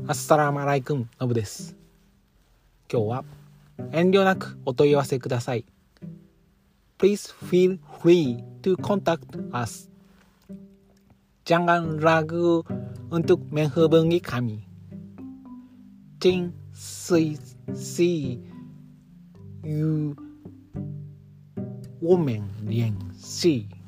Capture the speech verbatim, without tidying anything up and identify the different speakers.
Speaker 1: アッサラムアライクンノブです。今日は遠慮なくお問い合わせください。Please feel free to contact us. Jangan ragu untuk menghubungi kami. Jin si si yu woman 联系。